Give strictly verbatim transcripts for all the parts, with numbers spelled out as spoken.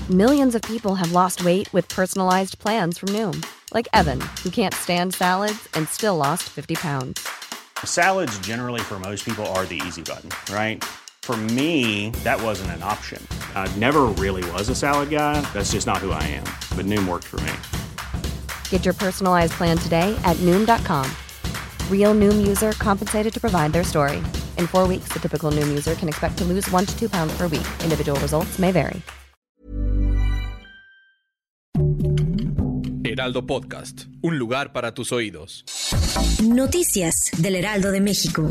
Millions of people have lost weight with personalized plans from Noom. Like Evan, who can't stand salads and still lost fifty pounds. Salads generally for most people are the easy button, right? For me, that wasn't an option. I never really was a salad guy. That's just not who I am. But Noom worked for me. Get your personalized plan today at Noom dot com. Real Noom user compensated to provide their story. In four weeks, the typical Noom user can expect to lose one to two pounds per week. Individual results may vary. Heraldo Podcast, un lugar para tus oídos. Noticias del Heraldo de México.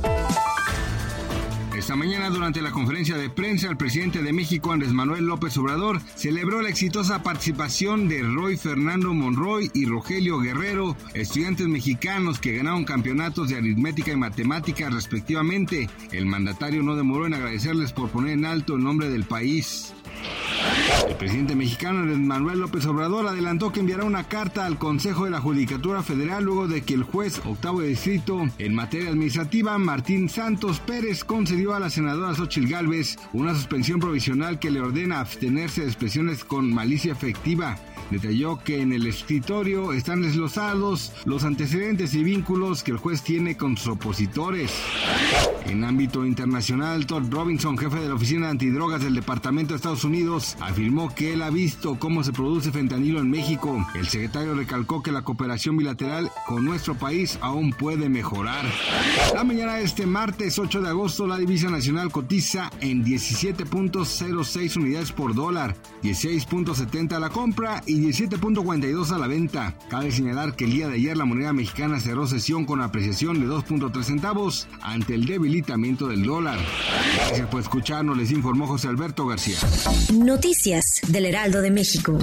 Esta mañana, durante la conferencia de prensa, el presidente de México, Andrés Manuel López Obrador, celebró la exitosa participación de Roy Fernando Monroy y Rogelio Guerrero, estudiantes mexicanos que ganaron campeonatos de aritmética y matemáticas respectivamente. El mandatario no demoró en agradecerles por poner en alto el nombre del país. El presidente mexicano Andrés Manuel López Obrador adelantó que enviará una carta al Consejo de la Judicatura Federal luego de que el juez octavo de distrito en materia administrativa, Martín Santos Pérez, concedió a la senadora Xóchitl Gálvez una suspensión provisional que le ordena abstenerse de expresiones con malicia efectiva. Detalló que en el escritorio están desglosados los antecedentes y vínculos que el juez tiene con sus opositores. En ámbito internacional, Todd Robinson, jefe de la Oficina Antidrogas del Departamento de Estados Unidos, afirmó que él ha visto cómo se produce fentanilo en México. El secretario recalcó que la cooperación bilateral con nuestro país aún puede mejorar. La mañana de este martes ocho de agosto, la divisa nacional cotiza en diecisiete punto cero seis unidades por dólar, dieciséis punto setenta a la compra y diecisiete punto cuarenta y dos a la venta. Cabe señalar que el día de ayer la moneda mexicana cerró sesión con apreciación de dos punto tres centavos ante el debilitamiento del dólar. Gracias por escucharnos, les informó José Alberto García. Noticias del Heraldo de México.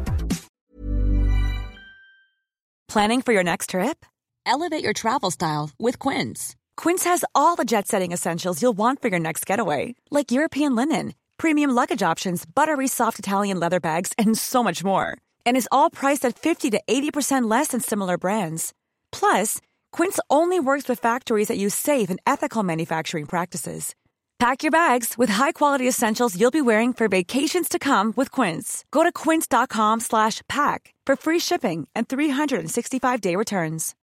Planning for your next trip? Elevate your travel style with Quince. Quince has all the jet-setting essentials you'll want for your next getaway, like European linen, premium luggage options, buttery soft Italian leather bags, and so much more. And is all priced at fifty to eighty percent less than similar brands. Plus, Quince only works with factories that use safe and ethical manufacturing practices. Pack your bags with high-quality essentials you'll be wearing for vacations to come with Quince. Go to quince dot com slash pack for free shipping and three hundred sixty-five day returns.